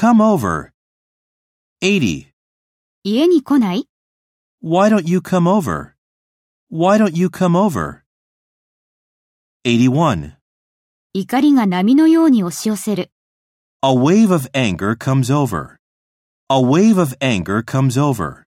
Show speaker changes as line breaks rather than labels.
come over? 80.
家に来ない？
Why don't you come over? Why don't you come over? 81.
怒りが波のように押し寄せる。
A wave of anger comes over. A wave of anger comes over.